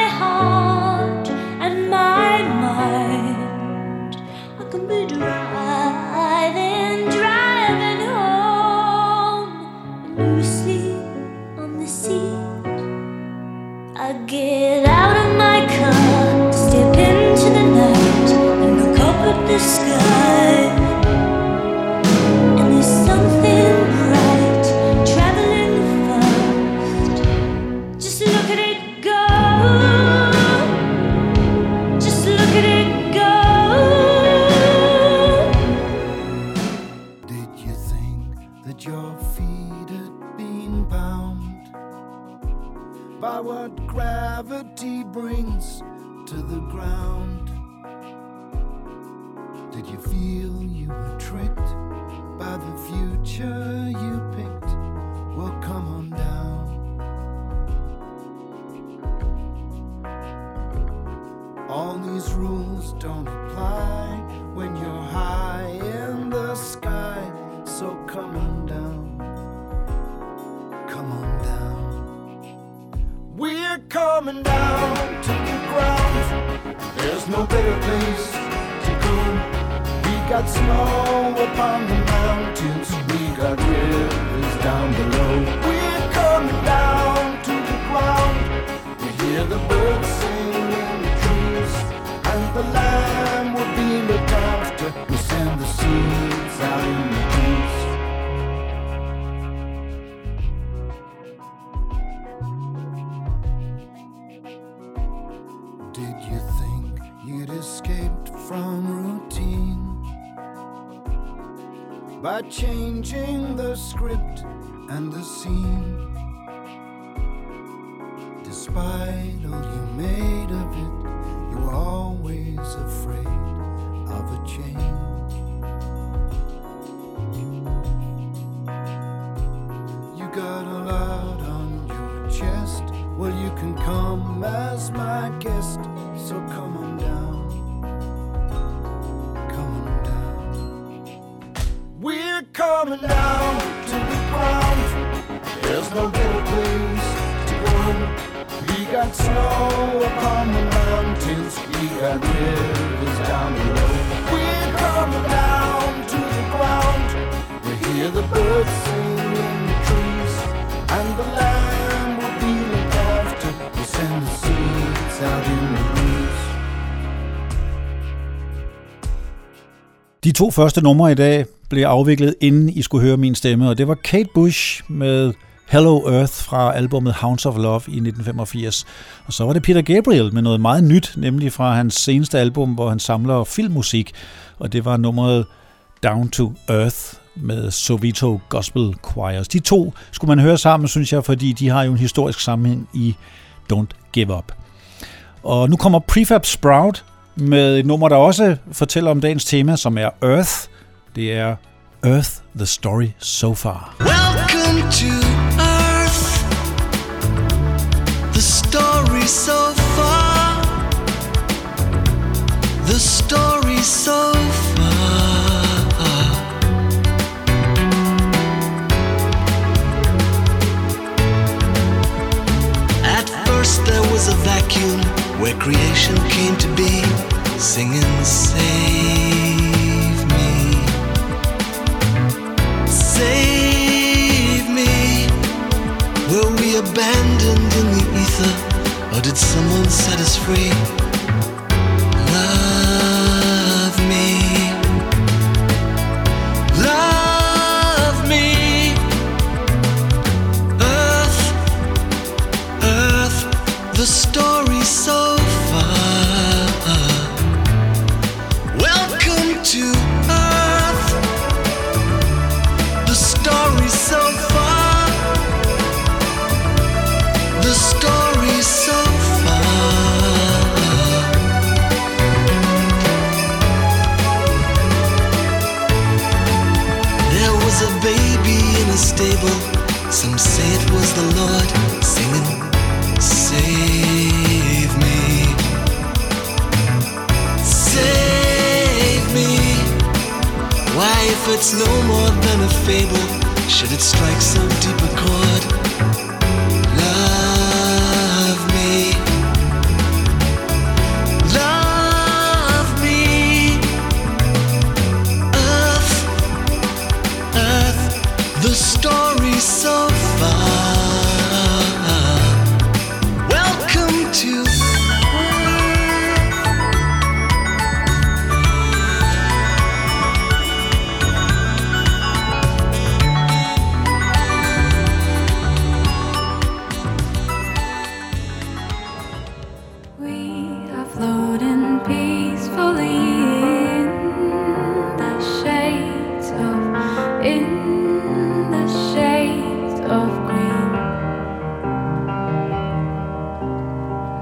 heart and my mind. I can be driving home, and you sleep on the seat. I get out of my car, step into the night, and look up at the sky. And there's something bright traveling fast. Just look at it go. Just look at it go. Did you think that your feet had been bound by what gravity brings to the ground? Did you feel you were tricked by the future you picked? Well, come on down. All these rules don't apply when you're high in the sky. So come on down. Come on down. We're coming down to the ground. There's no better place to go. We got snow upon the mountains. We got rivers down below. We're coming down to the ground. We hear the birds sing in the trees, and the land will be looked after. We send the seeds out in the breeze. Did you think you'd escaped from routine by changing the script and the scene? Despite all you made of it, you were always afraid of a change. You got a lot on your chest. Well, you can come as my guest. So come on down. Come on down. We're coming down to the ground. There's no better place to go. We got snow upon the mountains. We got rivers down below. We're coming down to the ground. We hear the birds sing in the trees, and the land will be looked after. We send the seeds out in the breeze. De to første numre i dag blev afviklet, inden I skulle høre min stemme, og det var Kate Bush med Hello Earth fra albumet Hounds of Love i 1985. Og så var det Peter Gabriel med noget meget nyt, nemlig fra hans seneste album, hvor han samler filmmusik, og det var nummeret Down to Earth med Sovito Gospel Choirs. De to skulle man høre sammen, synes jeg, fordi de har jo en historisk sammenhæng i Don't Give Up. Og nu kommer Prefab Sprout med et nummer, der også fortæller om dagens tema, som er Earth. Det er Earth, the story so far. Welcome to Earth, the story so far, the story so far. At first there was a vacuum where creation came to be, singing save me, save me. Were we abandoned in the ether, or did someone set us free? Love me, love me. Earth, Earth, the story so far. Welcome to Earth, the story so far, the story so far. There was a baby in a stable, some say it was the Lord singing, save me, save me. Why, if it's no more than a fable, should it strike so deep a chord? Love me,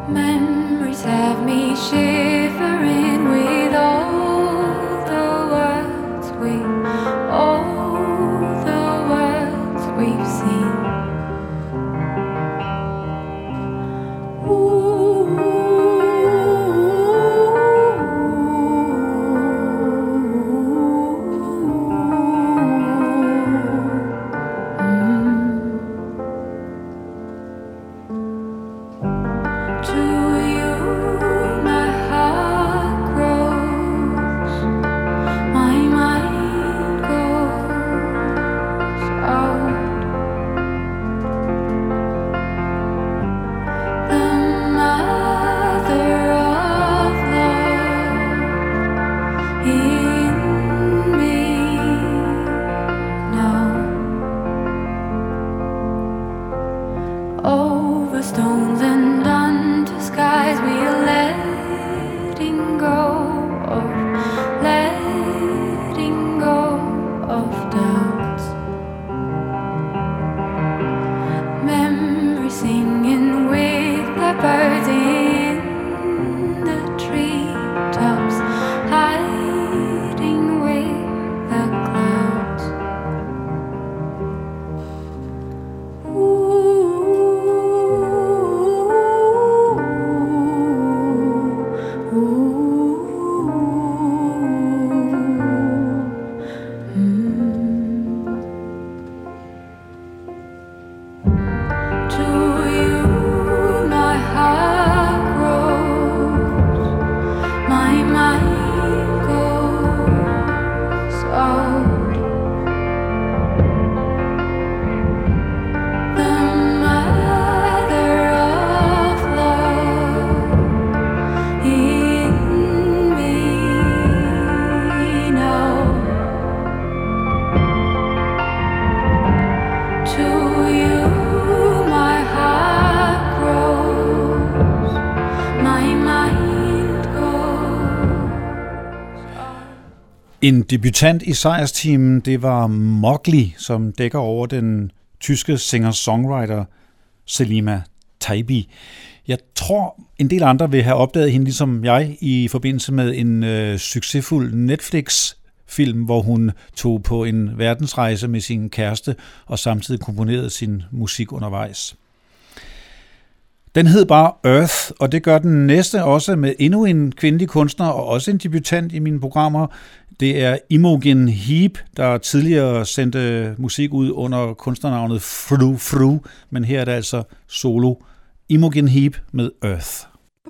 Memories have me shivering with all the words we've seen. En debutant i sejrsteamen, det var Mowgli, som dækker over den tyske singer-songwriter Selima Taibi. Jeg tror, en del andre vil have opdaget hende, ligesom jeg, i forbindelse med en succesfuld Netflix-film, hvor hun tog på en verdensrejse med sin kæreste og samtidig komponerede sin musik undervejs. Den hed bare Earth, og det gør den næste også med endnu en kvindelig kunstner og også en debutant i mine programmer. Det er Imogen Heap, der tidligere sendte musik ud under kunstnernavnet Fru Fru, men her er det altså solo. Imogen Heap med Earth.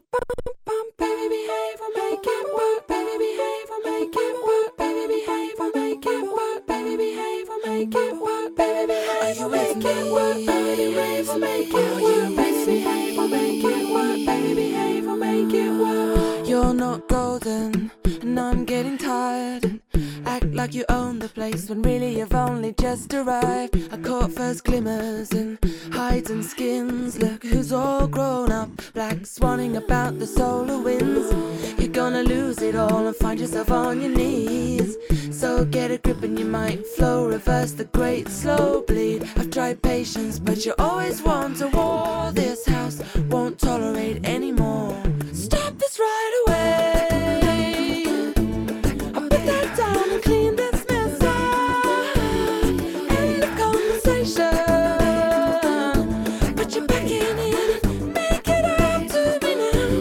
You're not golden, and I'm getting tired. Act like you own the place when really you've only just arrived. I caught first glimmers and hides and skins. Look who's all grown up, black swanning about the solar winds. You're gonna lose it all and find yourself on your knees. So get a grip and you might flow, reverse the great slow bleed. I've tried patience, but you always want a war. This house won't tolerate anymore. Stop this right away. I'll put that down and clean this mess up. End of conversation. Put your back in it and make it up to me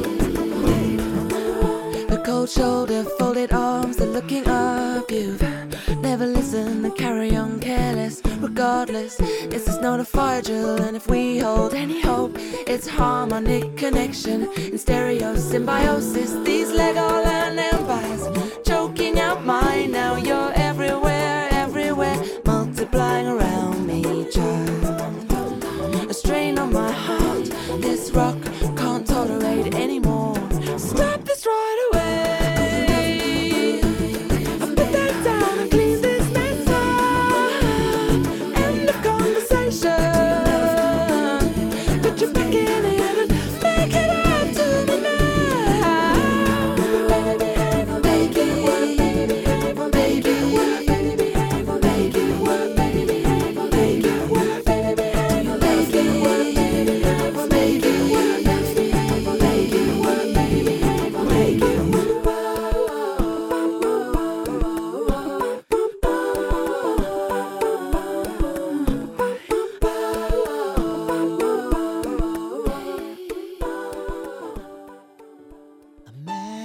now. The cold shoulder, folded arms, they're looking up. You've never listened and carry on careless. Regardless, this is not a fire drill, and if we hold any hope, it's harmonic connection in stereo symbiosis. These Legoland empires choking out mine. Now you're everywhere, everywhere, multiplying around me, child. A strain on my heart, this rock can't tolerate anymore. Stop this right away. Put your back in it and make it up to me now.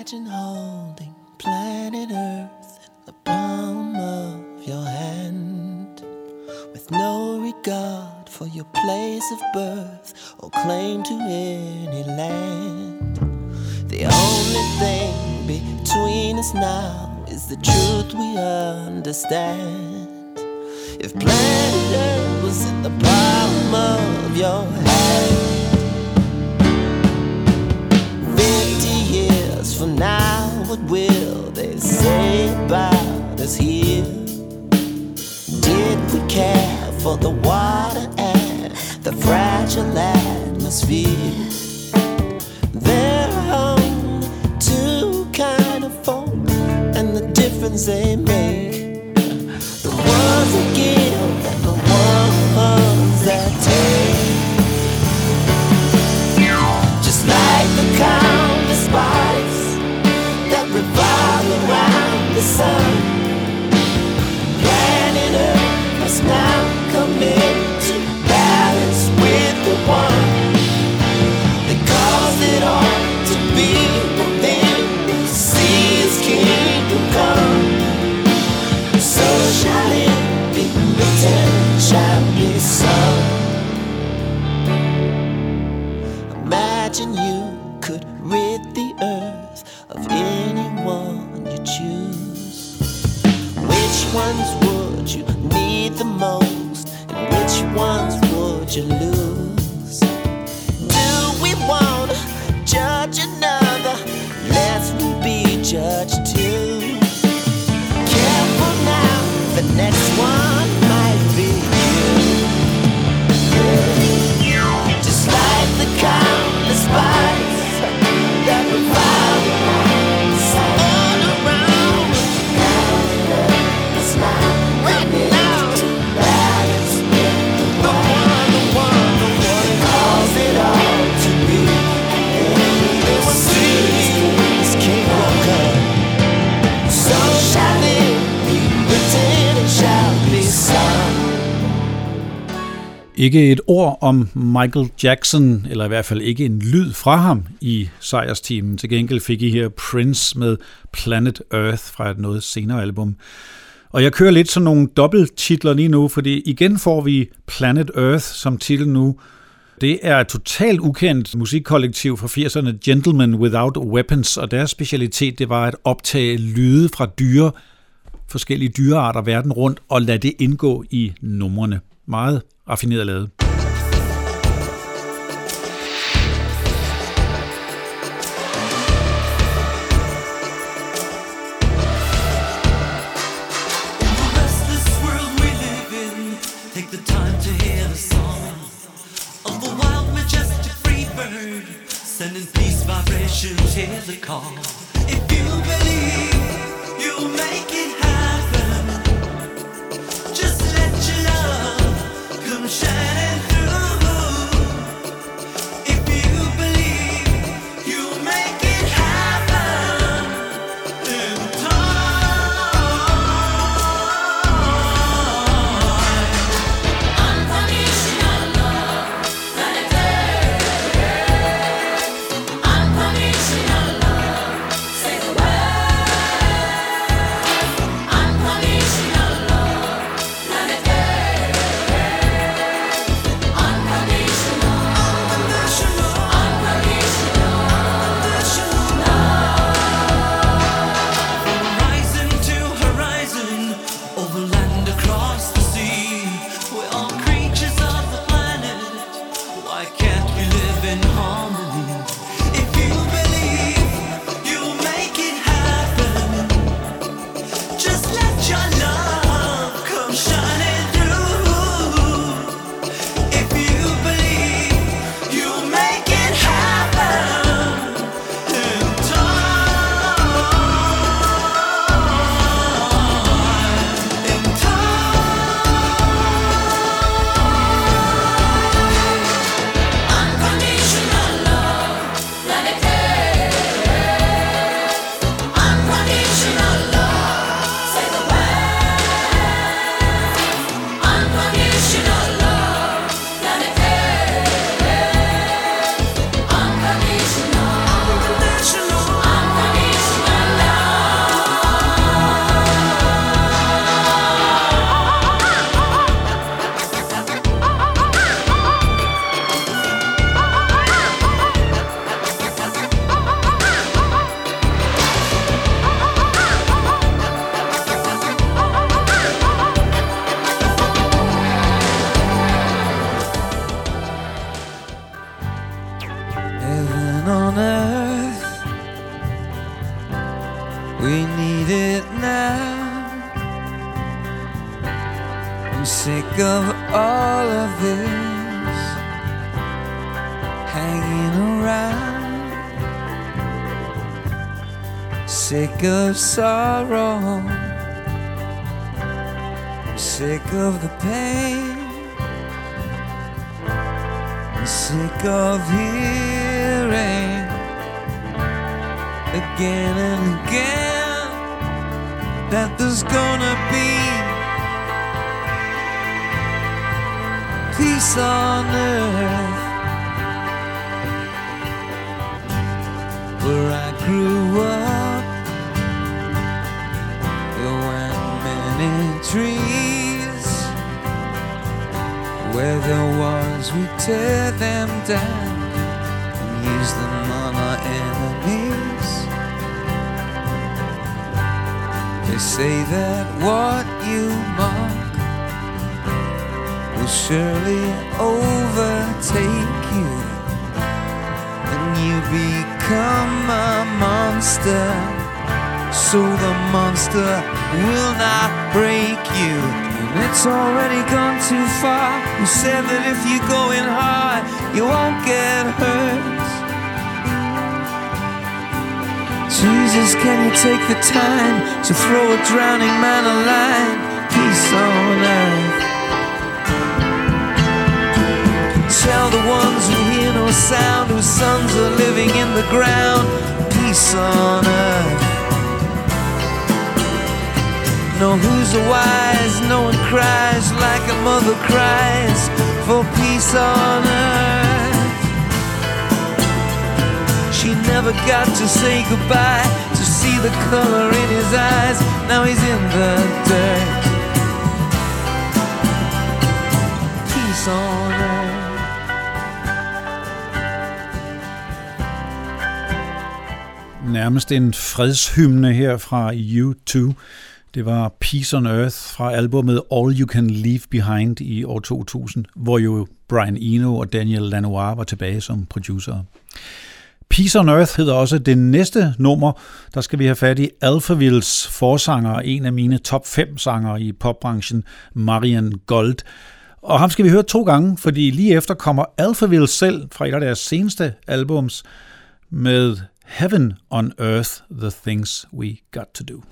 Imagine holding planet Earth in the palm of your hand, with no regard for your place of birth or claim to any land. The only thing between us now is the truth we understand. If planet Earth was in the palm of your hand, 50 years from now, what will they say about us here? Did we care for the water and the fragile atmosphere? There are only two kind of folk, and the difference they make, the ones that give and the ones that take. Just like the countless bodies that revolve around the sun, planet Earth must now come into balance with the one that caused it all to be within the sea's kingdom come. So shall it be written, shall be sung. Imagine you could rid the earth of anyone you choose. Which ones would you need the most, and which ones would you lose? Do we want to judge another? Let's be judged too. Careful now, the next one might be you. Just like the countless bodies that revolve all around. It's not right now. Balance with the one that caused it all to be. It was His kingdom come. So shall it be written, it shall be sung. Ikke et ord om Michael Jackson, eller i hvert fald ikke en lyd fra ham i sejrsteamen. Til gengæld fik I her Prince med Planet Earth fra et noget senere album. Og jeg kører lidt sådan nogle dobbelttitler lige nu, fordi igen får vi Planet Earth som titel nu. Det er et totalt ukendt musikkollektiv fra 80'erne, Gentlemen Without Weapons, og deres specialitet det var at optage lyde fra forskellige dyrearter verden rundt, og lade det indgå i numrene. Meget raffineret lavet. Sending peace vibrations, hear the call. If you believe, you'll make it happen. Just let your love come shining through. If you believe, you'll make it happen in time. Unconditional love, planet Earth. Unconditional love, say the word. Unconditional love, planet Earth. We need it now. I'm sick of all of this hanging around. Sick of sorrow. Sick of the pain. I'm sick of hearing again and again that there's gonna be peace on earth. Where I grew up, there weren't many trees. Where there was, we tear them down and use them on our enemies. They say that what you mock will surely overtake you, and you become a monster, so the monster will not break you. And it's already gone too far. You said that if you go in hard, you won't get hurt. Jesus, can you take the time to throw a drowning man a line? Peace on earth. Tell the ones who hear no sound, whose sons are living in the ground, peace on earth. No, who's a wise? No one cries like a mother cries for peace on earth. She never got to say goodbye, to see the color in his eyes. Now he's in the dirt. Peace on earth. Nærmest en fredshymne her fra U2. Det var Peace on Earth fra albumet All You Can Leave Behind i år 2000, hvor jo Brian Eno og Daniel Lanois var tilbage som producer. Peace on Earth hedder også det næste nummer. Der skal vi have fat i Alphavilles forsanger, en af mine top 5 sangere i popbranchen, Marian Gold. Og ham skal vi høre 2 gange, fordi lige efter kommer Alphaville selv fra et af deres seneste albums med Heaven on Earth, The Things We Got to Do.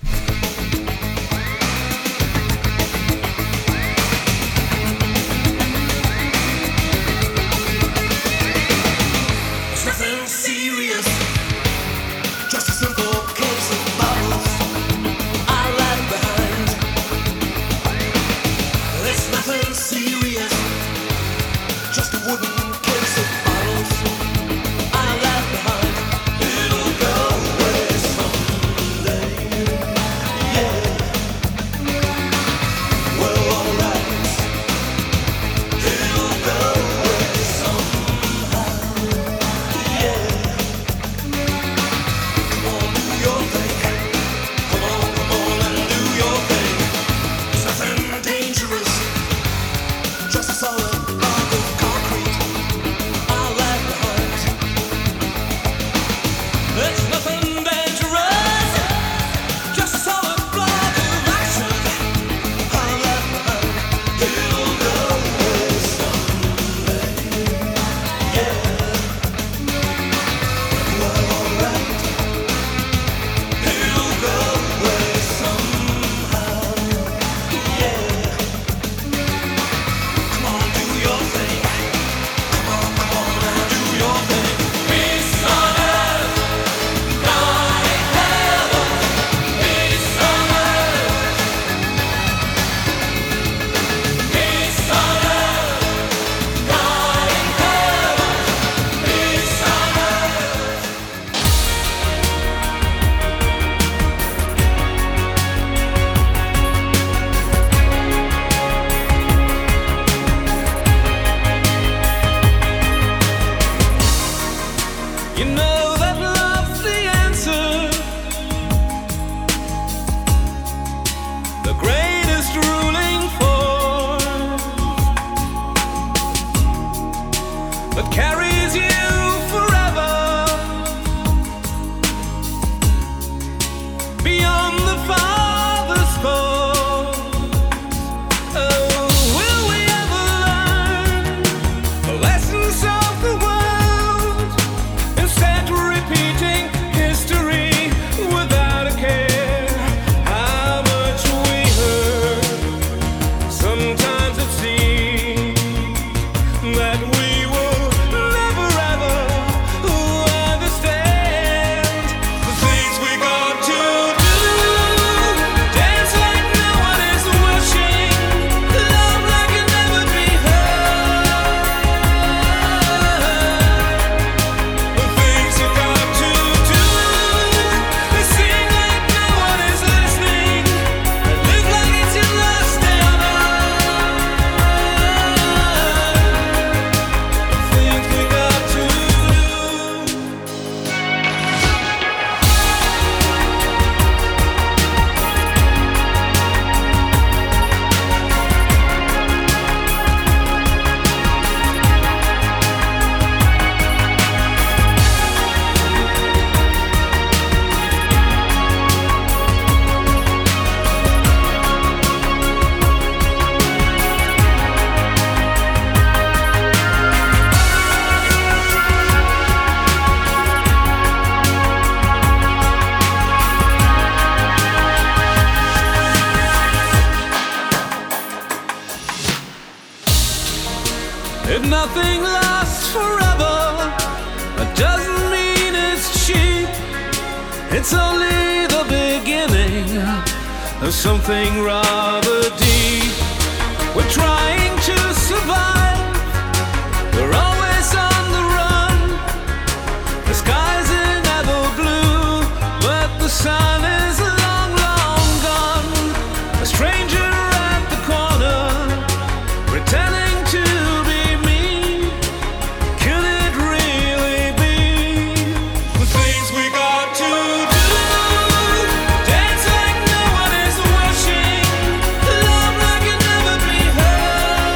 It's only the beginning of something rather deep. We're trying to survive. We're always on the run. The sky's never blue, but the sun is long, long gone. A stranger at the corner, pretending to be me. Could it really be the things we got to do? Dance like no one is watching. Love like it never be heard.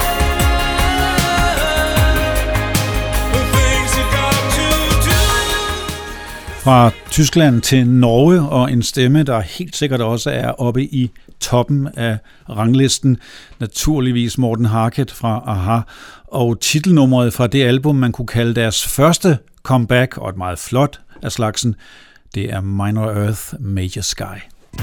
The things we got to do. Fra Tyskland til Norge, og en stemme, der helt sikkert også er oppe i toppen af ranglisten. Naturligvis Morten Harket fra Aha, og titelnummeret fra det album, man kunne kalde deres første comeback, og et meget flot af slagsen, det er Minor Earth, Major Sky.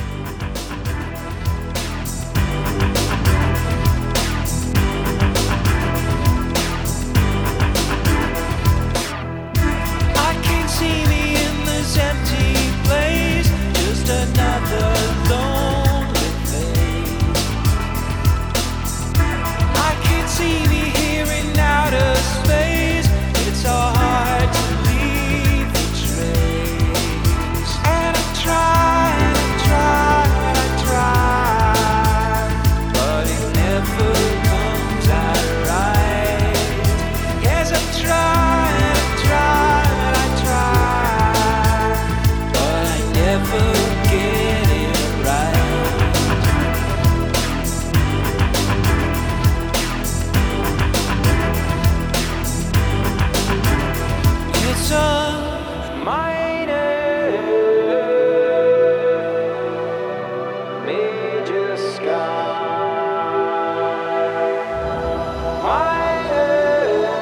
I can't see me in this empty place, just another lonely face. I can't see me here in outer space, it's so hard to leave the trace. And I try, but it never comes out right. Yes, I try, but I never get it right. It's a minor major sky. Minor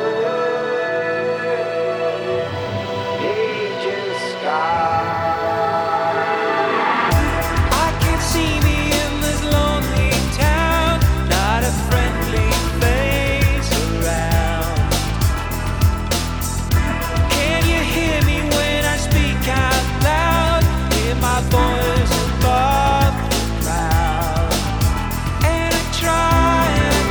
major sky. I can't see me in this lonely town, not a friendly face around. Can you hear me when I speak out loud? Hear my voice above the crowd. And I try,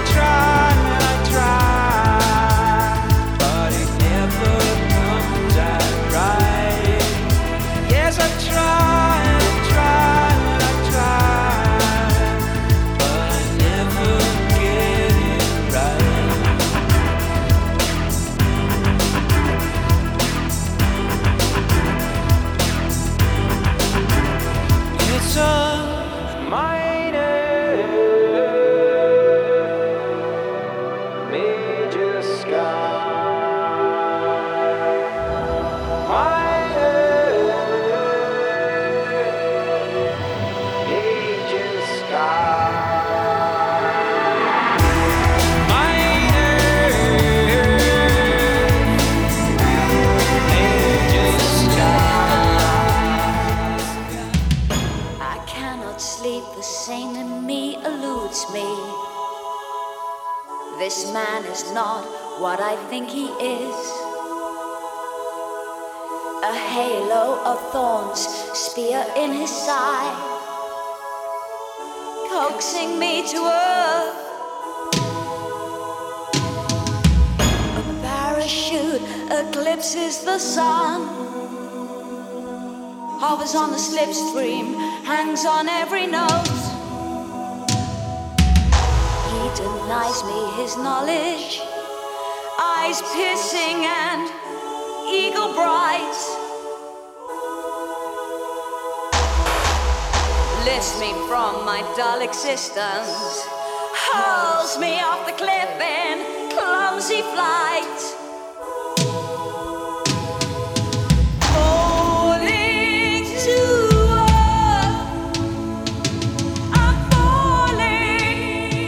but it never comes out right. Yes, I try, but I never get it right. It's a minor major sky. Minor major sky. Minor major sky. I cannot sleep, the same in me eludes me. This man is not what I think he is. A halo of thorns, spear in his side, coaxing me to earth. A parachute eclipses the sun, hovers on the slipstream, hangs on every note. He denies me his knowledge, eyes piercing and eagle bright. Lifts me from my dull existence, hurls me off the cliff in clumsy flight. Falling to earth, I'm falling.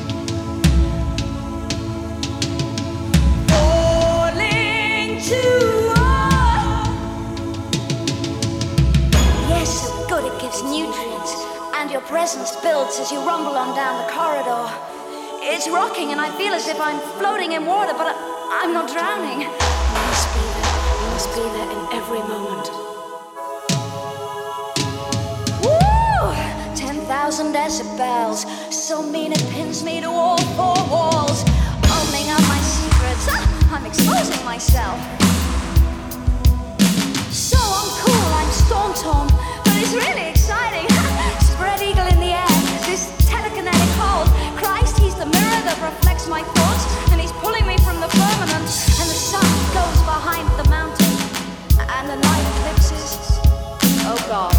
Falling to earth. Yes, so good it gives nutrients, and your presence builds as you rumble on down the corridor. It's rocking and I feel as if I'm floating in water, but I'm not drowning. You must be there in every moment. 1,000 decibels. So mean it pins me to all four walls. Opening up my secrets, I'm exposing myself. So I'm cool, I'm storm-torn, but it's really exciting. Spread eagle in the air, this telekinetic hold. Christ, he's the mirror that reflects my thoughts, and he's pulling me from the firmament. And the sun goes behind the mountain, and the night eclipses. Oh God.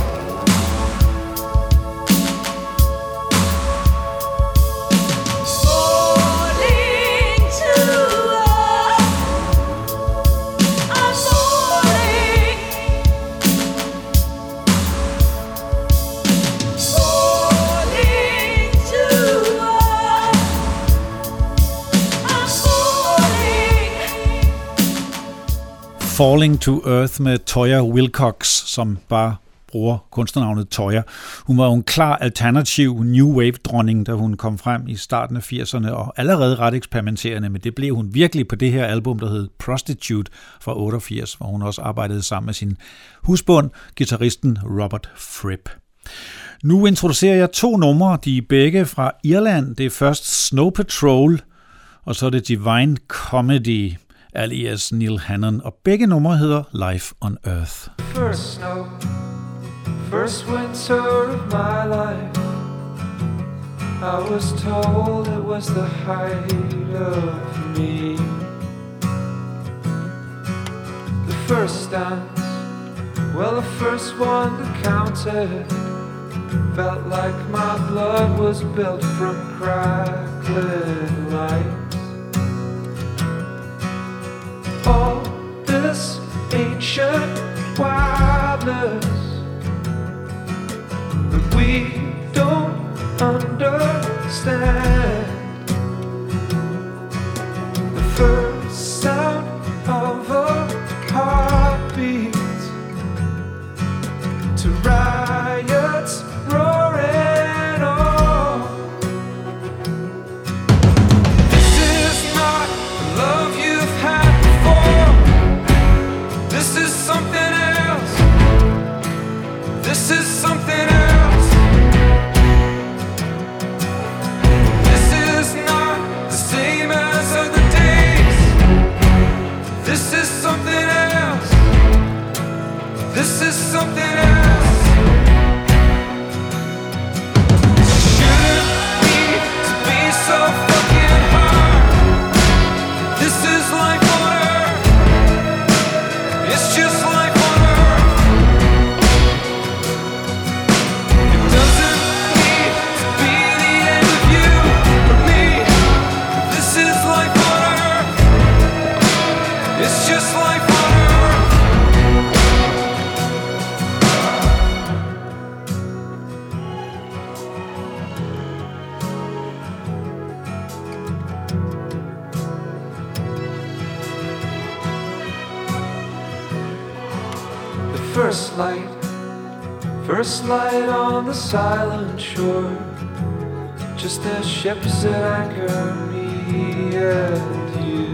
Falling to Earth med Toyah Willcox, som bare bruger kunstnernavnet Toyah. Hun var jo en klar alternativ New Wave-dronning, da hun kom frem i starten af 80'erne, og allerede ret eksperimenterende, men det blev hun virkelig på det her album, der hed Prostitute fra 88, hvor hun også arbejdede sammen med sin husbond, guitaristen Robert Fripp. Nu introducerer jeg 2 numre, de er begge fra Irland. Det er først Snow Patrol, og så er det Divine Comedy, alias Neil Hannon, og begge numre hedder Life on Earth. First snow, first winter of my life, I was told it was the height of me. The first dance, well the first one that counted, felt like my blood was built from crackling lights. All this ancient wildness that we don't understand. The first sound of a heartbeat to riots roaring on. This is not the love you've had before. This is something else. This is something else. This is not the same as other days. This is something else. This is something else. Shouldn't need to be so fucking hard. This is life on earth. It's just life on earth. It doesn't need to be the end of you or me. This is life on earth. It's just life on earth. The first light on the silent shore, just as ships at anchor, me and you.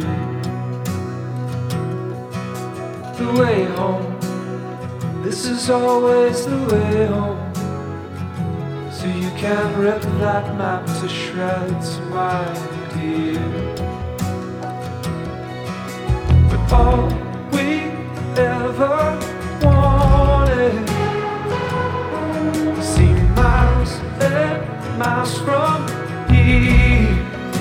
The way home, this is always the way home. So you can rip that map to shreds, my dear. But all we ever wanted seem miles and miles from here.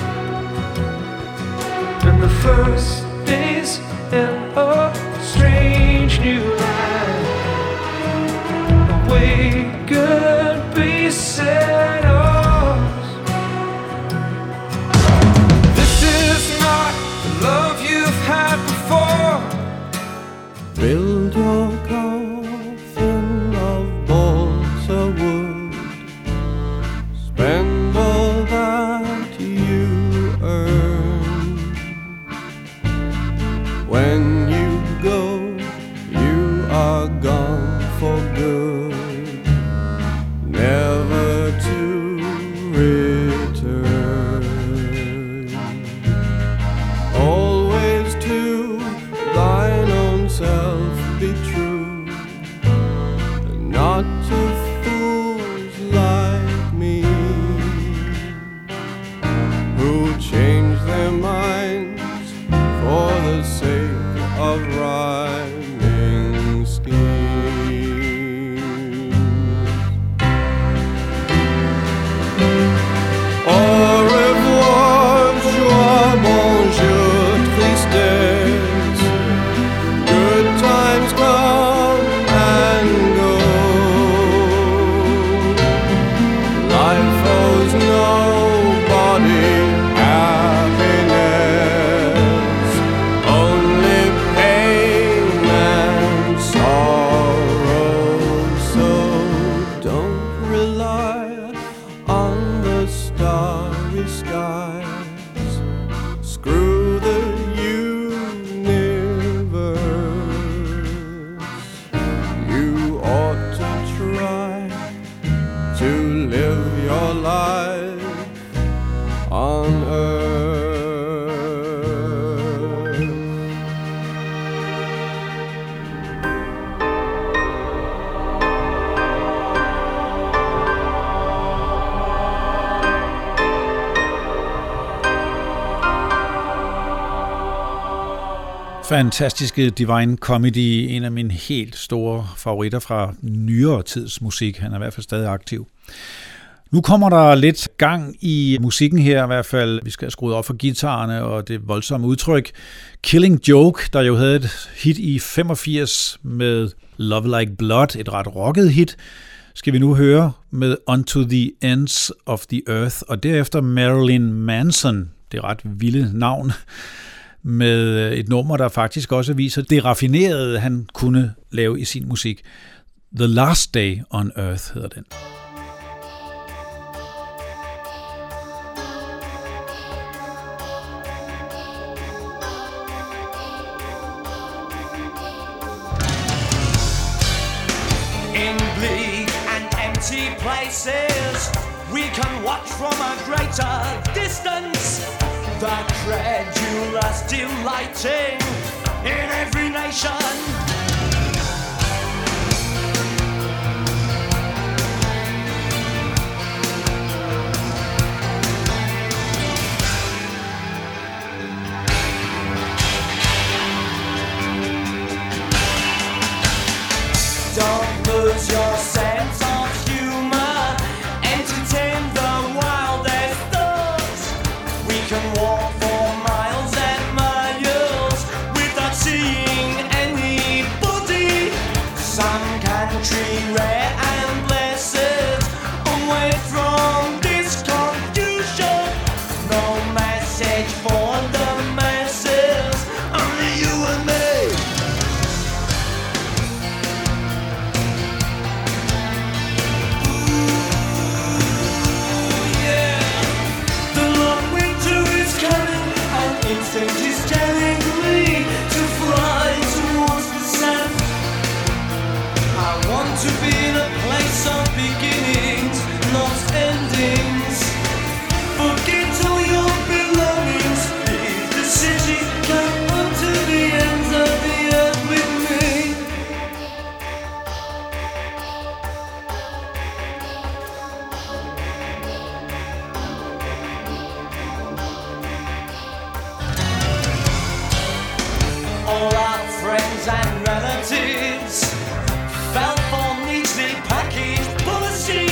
And the first days in a strange new land, we could be set off. This is not the love you've had before. Build your coffin of balsa wood. Spend all that you earn. When you go, you are gone for good, never to return. Always to thine own self be true, and not to fools like me. your life on earth. Fantastiske Divine Comedy, en af mine helt store favoritter fra nyere tids musik. Han er i hvert fald stadig aktiv. Nu kommer der lidt gang i musikken her i hvert fald. Vi skal have skruet op for guitarerne og det voldsomme udtryk. Killing Joke, der jo havde et hit i 85 med Love Like Blood, et ret rocket hit, skal vi nu høre med Unto the Ends of the Earth, og derefter Marilyn Manson, det er ret vilde navn, med et nummer, der faktisk også viser det raffinerede, han kunne lave i sin musik. The Last Day on Earth hedder den. In bleak and empty places, we can watch from a greater distance the credulous delighting in every nation. Don't lose your sense of humor, entertain the wildest thoughts. We can walk for miles and miles without seeing anybody. Some country rare and blessed, away from this confusion. No message for the masses, only you and me. Instinct is telling me to fly towards the south. I want to be in a place of beginnings, not endings. Forget all your belongings, leave the city, come on to the ends of the earth with me. All our friends and relatives fell for neatly packaged policy.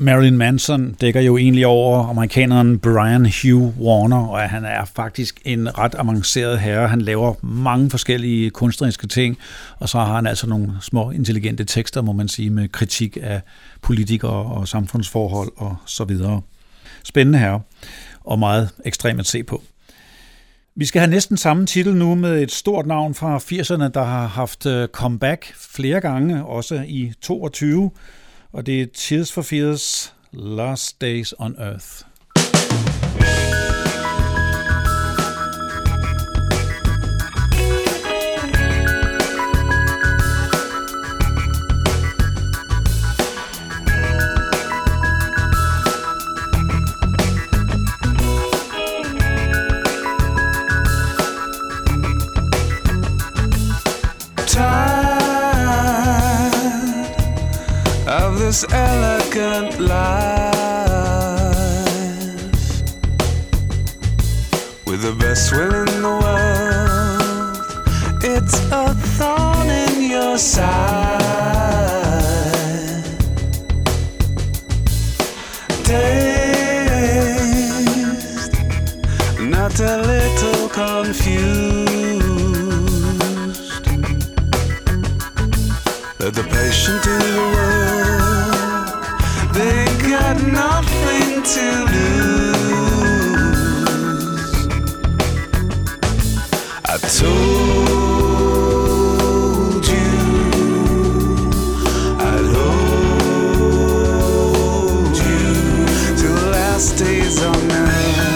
Marilyn Manson dækker jo egentlig over amerikaneren Brian Hugh Warner, og han er faktisk en ret avanceret herre. Han laver mange forskellige kunstneriske ting, og så har han altså nogle små intelligente tekster, må man sige, med kritik af politikere og samfundsforhold og så videre. Spændende herre, og meget ekstremt at se på. Vi skal have næsten samme titel nu med et stort navn fra 80'erne, der har haft comeback flere gange, også i 22, og det er Tears for Fears, Last Days on Earth. This elegant life with the best will in the world. It's a thorn in your side. Dazed, not a little confused. Let the patient in the world, they got nothing to lose. I told you I'd hold you till the last days on earth.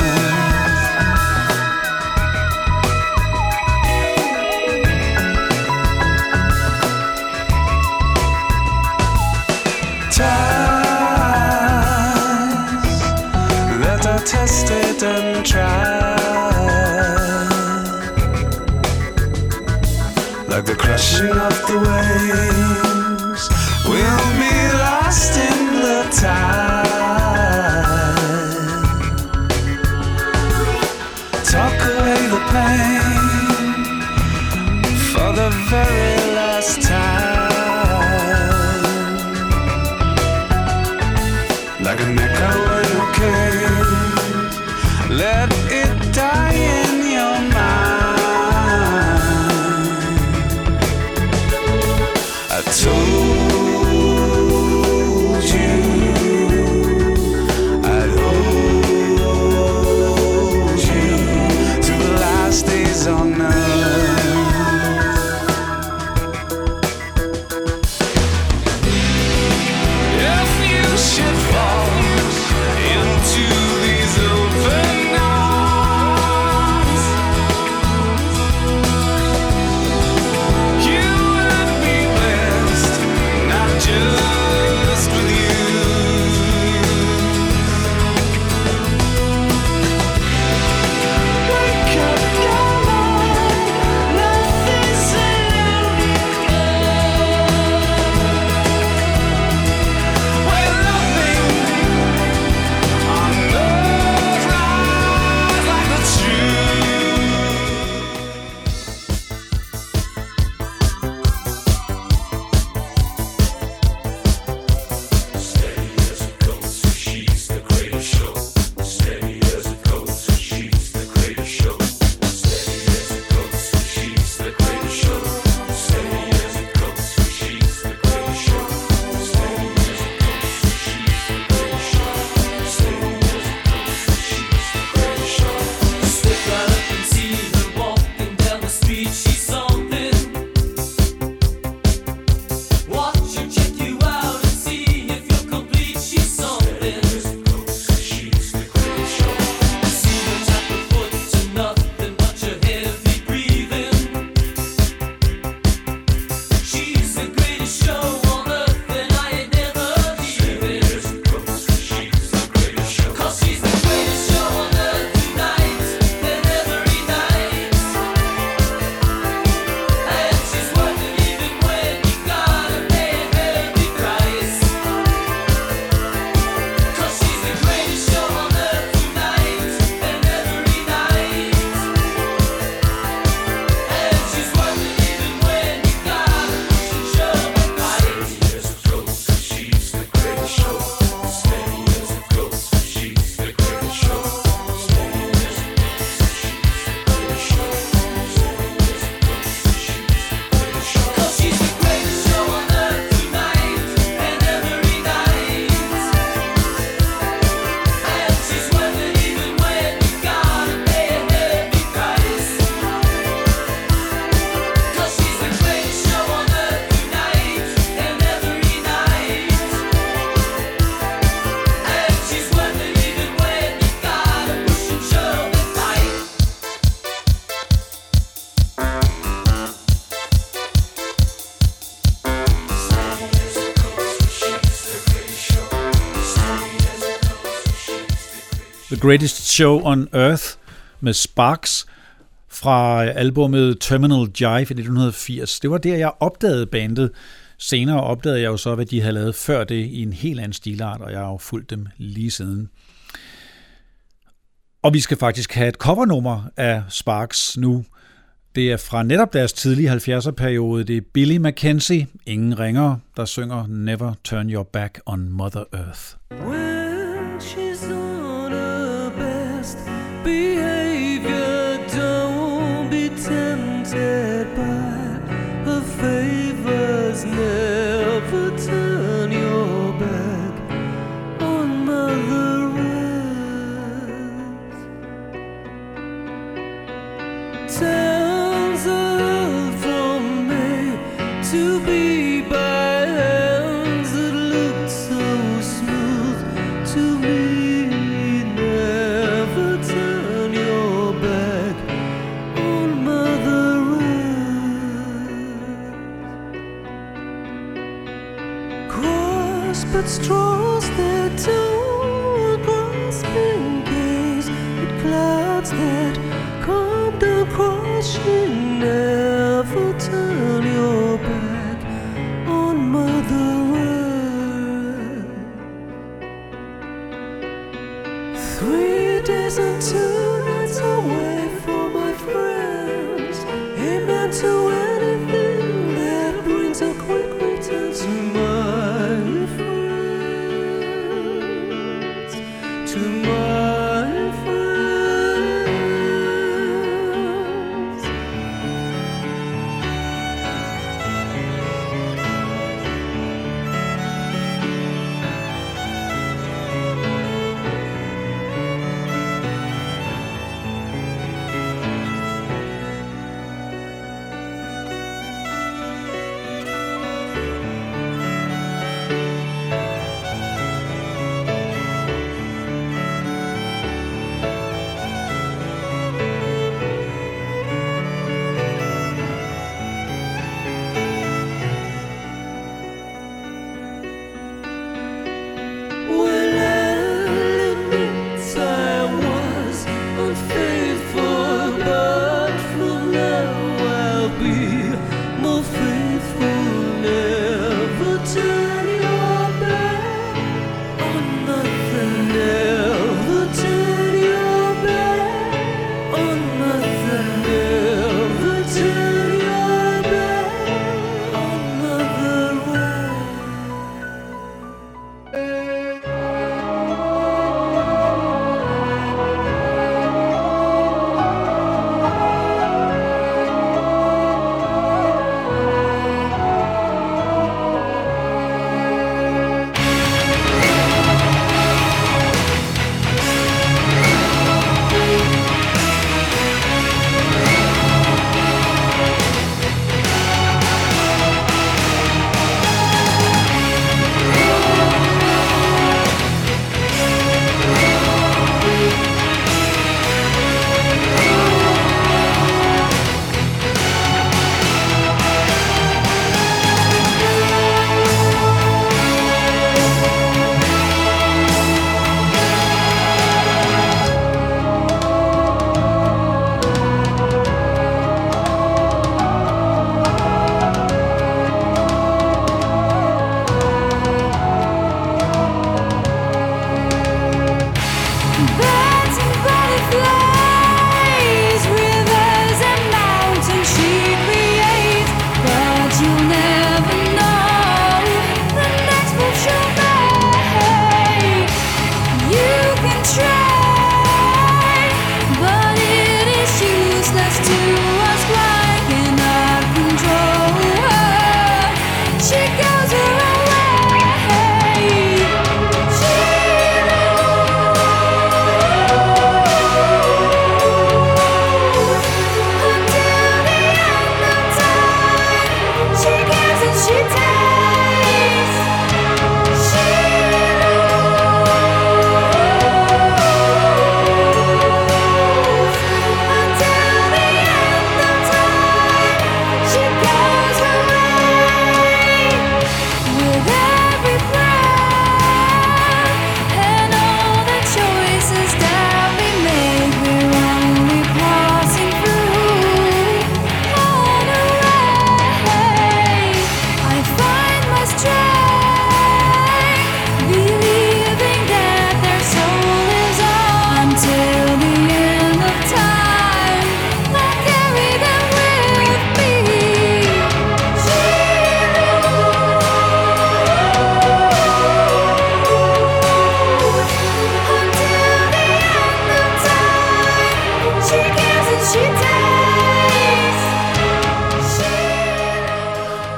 Tested and tried, like the crashing of the waves, we'll be lost in the tide. Talk away the pain for the very last time, like an echo in a cave. Let it die in your mind. I told you I'd hold you till the last days on earth. If you should fall into these open The Greatest Show on Earth med Sparks fra albumet Terminal Jive i 1980. Det var der, jeg opdagede bandet. Senere opdagede jeg jo så, hvad de havde lavet før det i en helt anden stilart, og jeg har jo fulgt dem lige siden. Og vi skal faktisk have et covernummer af Sparks nu. Det er fra netop deres tidlige 70'er-periode. Det er Billy Mackenzie, ingen ringere, der synger Never Turn Your Back on Mother Earth. When she's on her best behavior, don't be tempted by her favors. Never turn your back on Mother Earth. Towns are from me to be by hands that looked so smooth to me. Never turn your back on Mother Earth. But straws that don't grasping gaze, it clouds that come down crushing. Never turn your back on Mother Earth. 3 days and 2 nights away from my friends, amen to anything that brings a quick return to my friends. To my friends.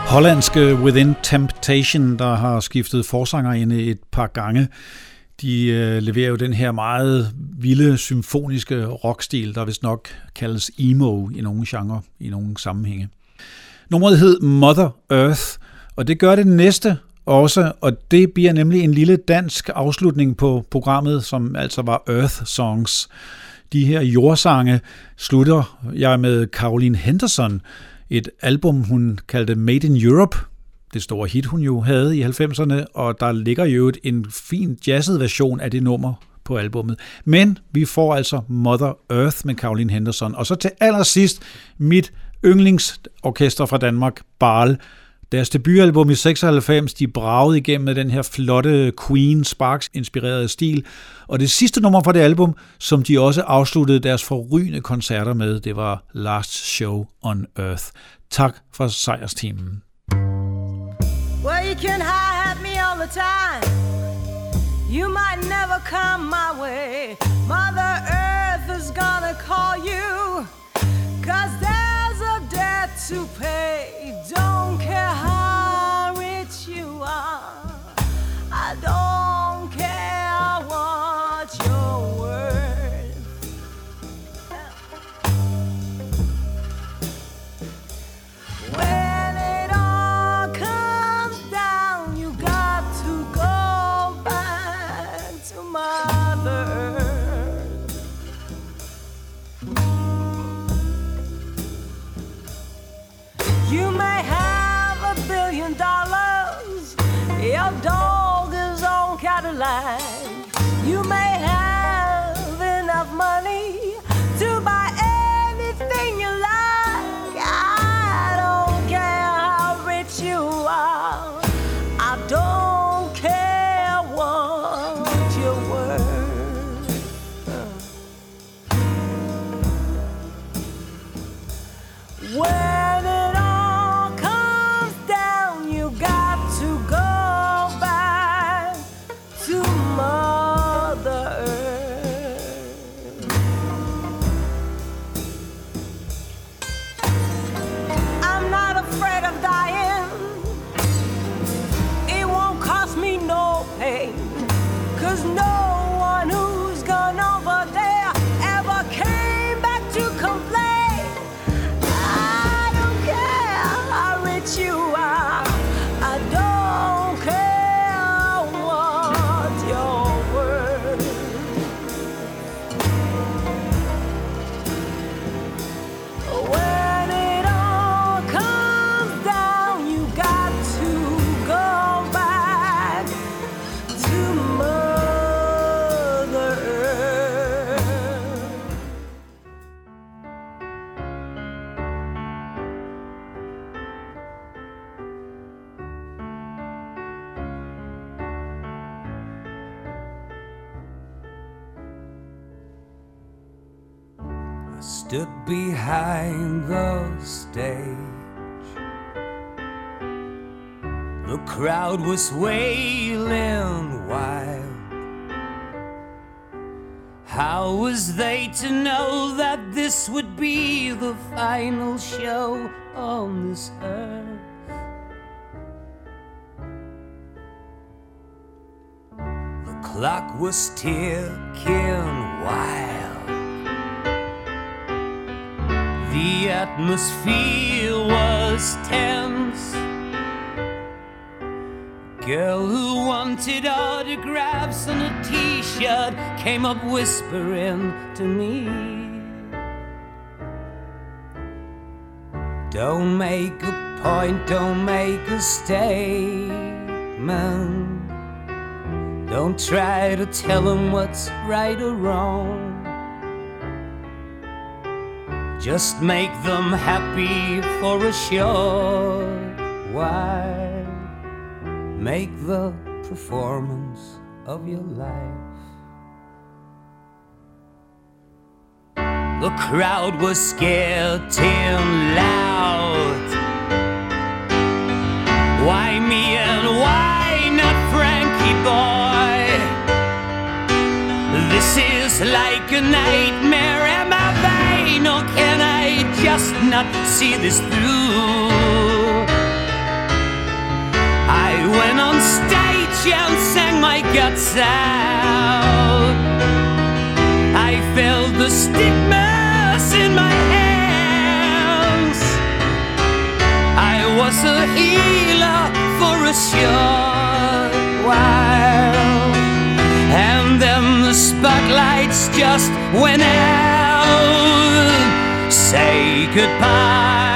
Hollandske Within Temptation, der har skiftet forsangerinde et par gange. De leverer jo den her meget vilde, symfoniske rockstil, der vist nok kaldes emo i nogle genrer, i nogle sammenhænge. Nummeret hed Mother Earth, og det gør det næste også, og det bliver nemlig en lille dansk afslutning på programmet, som altså var Earth Songs. De her jordsange slutter jeg med Caroline Henderson, et album, hun kaldte Made in Europe. Det store hit, hun jo havde i 90'erne, og der ligger jo en fin jazzet version af det nummer på albummet. Men vi får altså Mother Earth med Caroline Henderson. Og så til allersidst mit yndlingsorkester fra Danmark, Baal. Deres debutalbum i 96, de bragede igennem med den her flotte Queen Sparks-inspirerede stil. Og det sidste nummer fra det album, som de også afsluttede deres forrygende koncerter med, det var Last Show on Earth. Tak for sejrsteamen. Well, you can have me all the time. You might never come my way. Mother Earth is gonna call you. 'Cause there's a debt to pay. Don't care how rich you are. I don't care what you're worth. When it all comes down, you got to go back to Mother Earth. You may have $1 billion. Your dog is on Cadillac. You may have enough money to buy anything you like. I don't care how rich you are. I don't care what you're worth. When it all comes down, you got to go back to Mother Earth. I'm not afraid of dying. It won't cost me no pain. 'Cause no one who's gone over there ever came back to complain. I don't care how rich you are. I don't care what you're worth. When it all comes down, you got to go back to Mother Earth. I stood behind the stage. The crowd was wailing wild. How was they to know that this would be the final show on this earth? The clock was ticking wild. The atmosphere was tense. Girl who wanted autographs on a t-shirt came up whispering to me, don't make a point, don't make a statement. Don't try to tell them what's right or wrong. Just make them happy for a short while. Make the performance of your life. The crowd was getting loud. Why me and why not Frankie boy? This is like a nightmare. Am I vain or can I just not see this through? went on stage and sang my guts out. I felt the stigmas in my hands. I was a healer for a short while, and then the spotlights just went out. Say goodbye